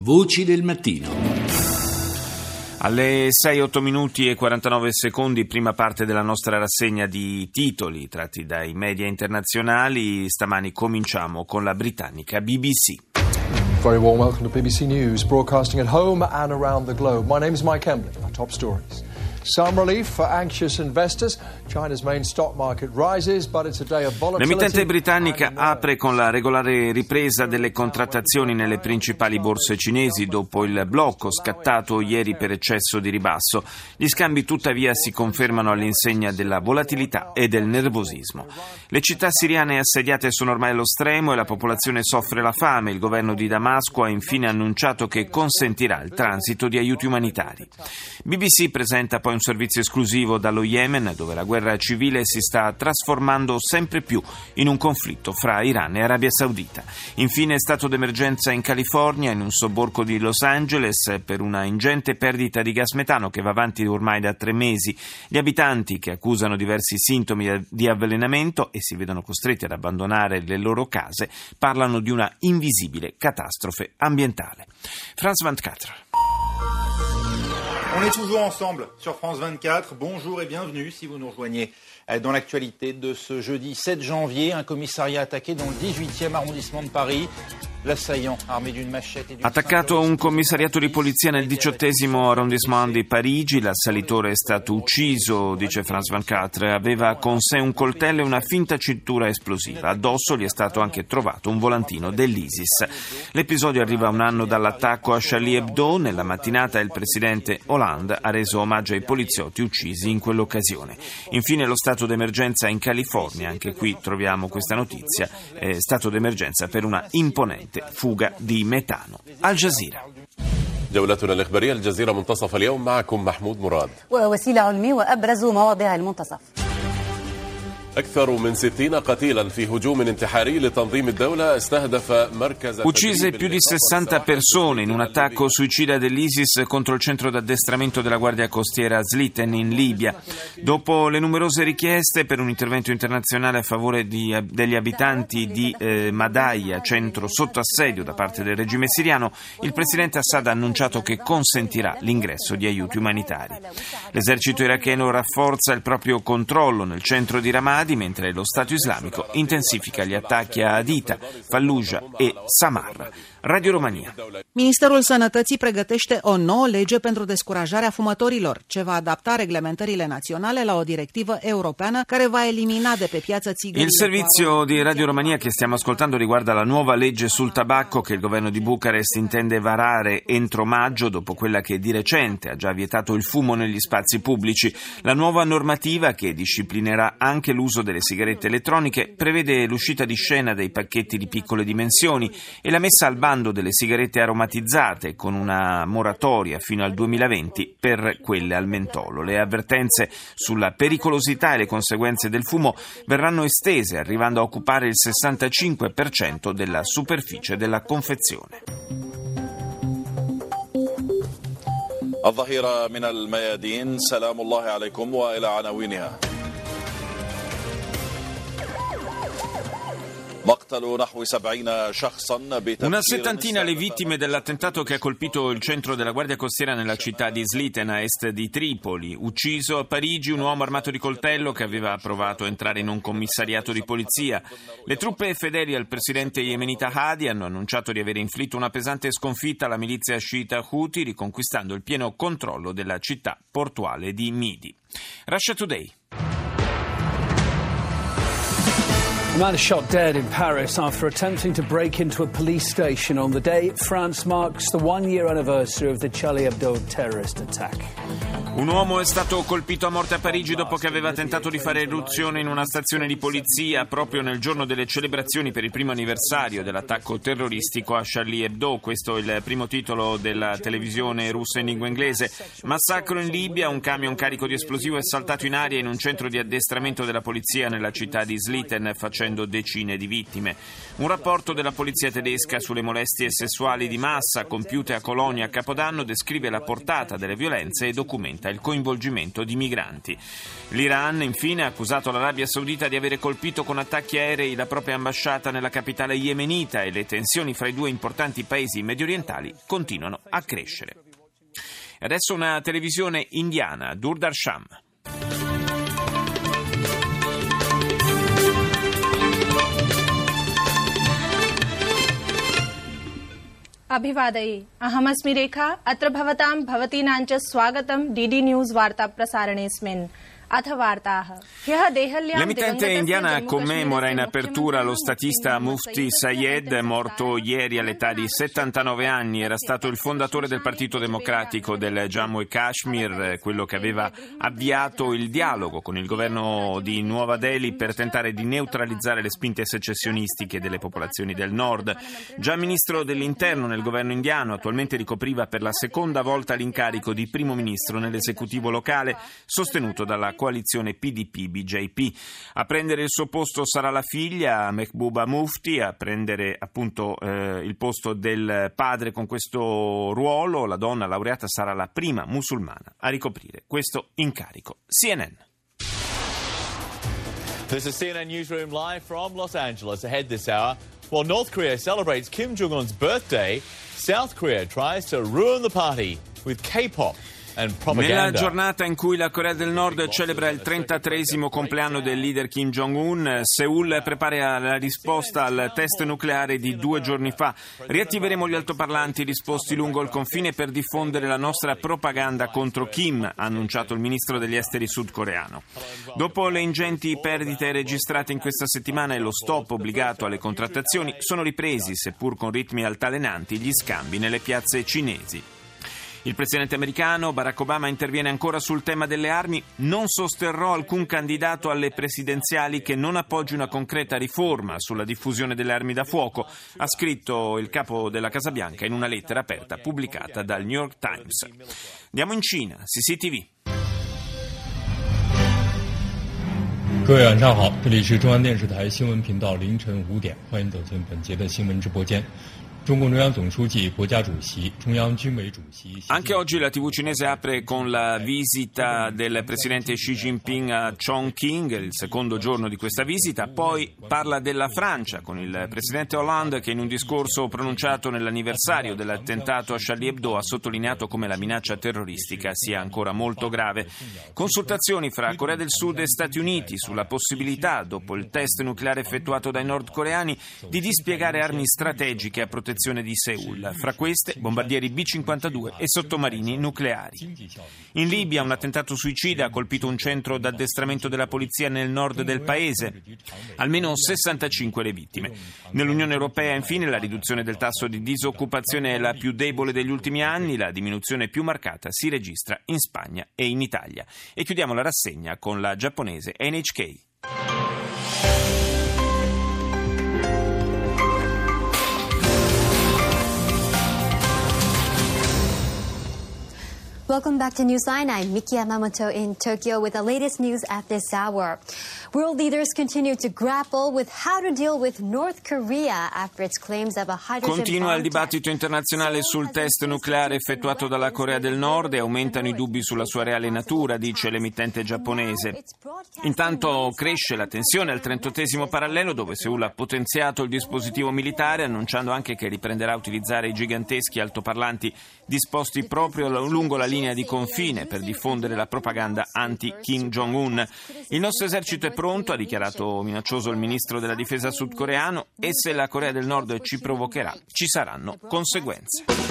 Voci del mattino. Alle 6:08 minuti e 49 secondi, prima parte della nostra rassegna di titoli tratti dai media internazionali. Stamani cominciamo con la britannica BBC. Very warm welcome to BBC News, broadcasting at home and around the globe. My name is Mike Embley. Our top stories. Some relief for anxious investors. China's main stock market rises, but it's a day of volatility. L'emittente britannica apre con la regolare ripresa delle contrattazioni nelle principali borse cinesi dopo il blocco scattato ieri per eccesso di ribasso. Gli scambi tuttavia si confermano all'insegna della volatilità e del nervosismo. Le città siriane assediate sono ormai allo stremo e la popolazione soffre la fame. Il governo di Damasco ha infine annunciato che consentirà il transito di aiuti umanitari. BBC presenta poi un servizio esclusivo dallo Yemen, dove la guerra civile si sta trasformando sempre più in un conflitto fra Iran e Arabia Saudita. Infine, stato d'emergenza in California, in un sobborgo di Los Angeles, per una ingente perdita di gas metano che va avanti ormai da 3 mesi. Gli abitanti, che accusano diversi sintomi di avvelenamento e si vedono costretti ad abbandonare le loro case, parlano di una invisibile catastrofe ambientale. France 24. On est toujours ensemble sur France 24. Bonjour et bienvenue si vous nous rejoignez dans l'actualité de ce jeudi 7 janvier. Un commissariat attaqué dans le 18e arrondissement de Paris. L'assaillant armé d'une machette e di Attaccato un commissariato di polizia nel 18° arrondissement di Parigi, l'assalitore è stato ucciso, dice France 24. Aveva con sé un coltello e una finta cintura esplosiva. Addosso gli è stato anche trovato un volantino dell'ISIS. L'episodio arriva un anno dall'attacco a Charlie Hebdo. Nella mattinata il presidente Hollande ha reso omaggio ai poliziotti uccisi in quell'occasione. Infine lo stato d'emergenza in California, anche qui troviamo questa notizia, stato d'emergenza per una imponente fuga di metano. Al Jazeera. جولتنا الإخبارية الجزيرة منتصف اليوم معكم محمود مراد. ووسيلة علمي وأبرز مواضيع المنتصف. أكثر من 60 قتيلا في هجوم انتحاري لتنظيم الدولة استهدف مركز. Uccise più di 60 persone in un attacco suicida dell'ISIS contro il centro d'addestramento della Guardia Costiera Sliten in Libia. Dopo le numerose richieste per un intervento internazionale a favore degli abitanti di Madaya, centro sotto assedio da parte del regime siriano, il presidente Assad ha annunciato che consentirà l'ingresso di aiuti umanitari. L'esercito iracheno rafforza il proprio controllo nel centro di Ramadi, mentre lo Stato islamico intensifica gli attacchi a Haditha, Fallujah e Samarra. Radio Romania. Ministerul Sănătății pregătește o nouă lege pentru descurajarea fumătorilor, ce va adapta reglementările naționale la o directivă europeană care va elimina de pe piață țigările. Il servizio di Radio Romania che stiamo ascoltando riguarda la nuova legge sul tabacco che il governo di Bucarest intende varare entro maggio, dopo quella che di recente ha già vietato il fumo negli spazi pubblici. La nuova normativa, che disciplinerà anche l'uso delle sigarette elettroniche, prevede l'uscita di scena dei pacchetti di piccole dimensioni e la messa al bando delle sigarette aromatizzate, con una moratoria fino al 2020 per quelle al mentolo. Le avvertenze sulla pericolosità e le conseguenze del fumo verranno estese, arrivando a occupare il 65% della superficie della confezione. الظهيرة من الميادين سلام الله عليكم وإلى عناوينها. Una settantina le vittime dell'attentato che ha colpito il centro della Guardia Costiera nella città di Sliten, a est di Tripoli. Ucciso a Parigi un uomo armato di coltello che aveva provato a entrare in un commissariato di polizia. Le truppe fedeli al presidente yemenita Hadi hanno annunciato di aver inflitto una pesante sconfitta alla milizia sciita Houthi, riconquistando il pieno controllo della città portuale di Midi. Russia Today. A man is shot dead in Paris after attempting to break into a police station on the day France marks the 1-year anniversary of the Charlie Hebdo terrorist attack. Un uomo è stato colpito a morte a Parigi dopo che aveva tentato di fare irruzione in una stazione di polizia proprio nel giorno delle celebrazioni per il primo anniversario dell'attacco terroristico a Charlie Hebdo. Questo è il primo titolo della televisione russa in lingua inglese. Massacro in Libia, un camion carico di esplosivo è saltato in aria in un centro di addestramento della polizia nella città di Sliten, facendo facendo decine di vittime. Un rapporto della polizia tedesca sulle molestie sessuali di massa compiute a Colonia a Capodanno descrive la portata delle violenze e documenta il coinvolgimento di migranti. L'Iran, infine, ha accusato l'Arabia Saudita di avere colpito con attacchi aerei la propria ambasciata nella capitale yemenita e le tensioni fra i due importanti paesi mediorientali continuano a crescere. Adesso una televisione indiana, Doordarshan. अभिवादये अहमस्मि रेखा अत्र भवतां भवतीनां च स्वागतं DD news वार्ता प्रसारणेऽस्मिन्. L'emittente indiana commemora in apertura lo statista Mufti Sayed, morto ieri all'età di 79 anni. Era stato il fondatore del Partito Democratico del Jammu e Kashmir, quello che aveva avviato il dialogo con il governo di Nuova Delhi per tentare di neutralizzare le spinte secessionistiche delle popolazioni del nord. Già ministro dell'interno nel governo indiano, attualmente ricopriva per la seconda volta l'incarico di primo ministro nell'esecutivo locale, sostenuto dalla coalizione PDP-BJP. A prendere il suo posto sarà la figlia Mehbooba Mufti, a prendere appunto il posto del padre con questo ruolo. La donna laureata sarà la prima musulmana a ricoprire questo incarico. CNN. This is CNN Newsroom live from Los Angeles. Ahead this hour, while North Korea celebrates Kim Jong-un's birthday, South Korea tries to ruin the party with K-pop. Nella giornata in cui la Corea del Nord celebra il 33esimo compleanno del leader Kim Jong-un, Seoul prepara la risposta al test nucleare di 2 giorni fa. Riattiveremo gli altoparlanti disposti lungo il confine per diffondere la nostra propaganda contro Kim, ha annunciato il ministro degli esteri sudcoreano. Dopo le ingenti perdite registrate in questa settimana e lo stop obbligato alle contrattazioni, sono ripresi, seppur con ritmi altalenanti, gli scambi nelle piazze cinesi. Il presidente americano Barack Obama interviene ancora sul tema delle armi. Non sosterrò alcun candidato alle presidenziali che non appoggi una concreta riforma sulla diffusione delle armi da fuoco, ha scritto il capo della Casa Bianca in una lettera aperta pubblicata dal New York Times. Andiamo in Cina, CCTV. 各位晚上好，这里是中央电视台新闻频道凌晨5点，欢迎走进本节的新闻直播间。 Anche oggi la TV cinese apre con la visita del presidente Xi Jinping a Chongqing, il secondo giorno di questa visita. Poi parla della Francia con il presidente Hollande, che in un discorso pronunciato nell'anniversario dell'attentato a Charlie Hebdo ha sottolineato come la minaccia terroristica sia ancora molto grave. Consultazioni fra Corea del Sud e Stati Uniti sulla possibilità, dopo il test nucleare effettuato dai nordcoreani, di dispiegare armi strategiche a protezione di Seoul, fra queste bombardieri B-52 e sottomarini nucleari. In Libia un attentato suicida ha colpito un centro d'addestramento della polizia nel nord del paese, almeno 65 le vittime. Nell'Unione Europea infine la riduzione del tasso di disoccupazione è la più debole degli ultimi anni, la diminuzione più marcata si registra in Spagna e in Italia. E chiudiamo la rassegna con la giapponese NHK. Welcome back to Newsline. I'm Miki Yamamoto in Tokyo with the latest news at this hour. World leaders continue to grapple with how to deal with North Korea after its claims of a hydrogen Continua il bomb dibattito internazionale sul test nucleare effettuato dalla Corea del Nord e aumentano i dubbi sulla sua reale natura, dice l'emittente giapponese. Intanto cresce la tensione al 38esimo parallelo, dove Seoul ha potenziato il dispositivo militare, annunciando anche che riprenderà a utilizzare i giganteschi altoparlanti disposti proprio lungo la linea di confine per diffondere la propaganda anti-Kim Jong-un. Il nostro esercito è pronto, ha dichiarato minaccioso il ministro della difesa sudcoreano, e se la Corea del Nord ci provocherà, ci saranno conseguenze.